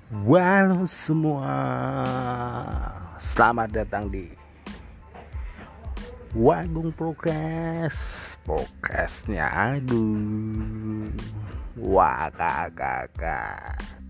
Halo semua, selamat datang di Wagung Podcastnya. Aduh, wah kakak.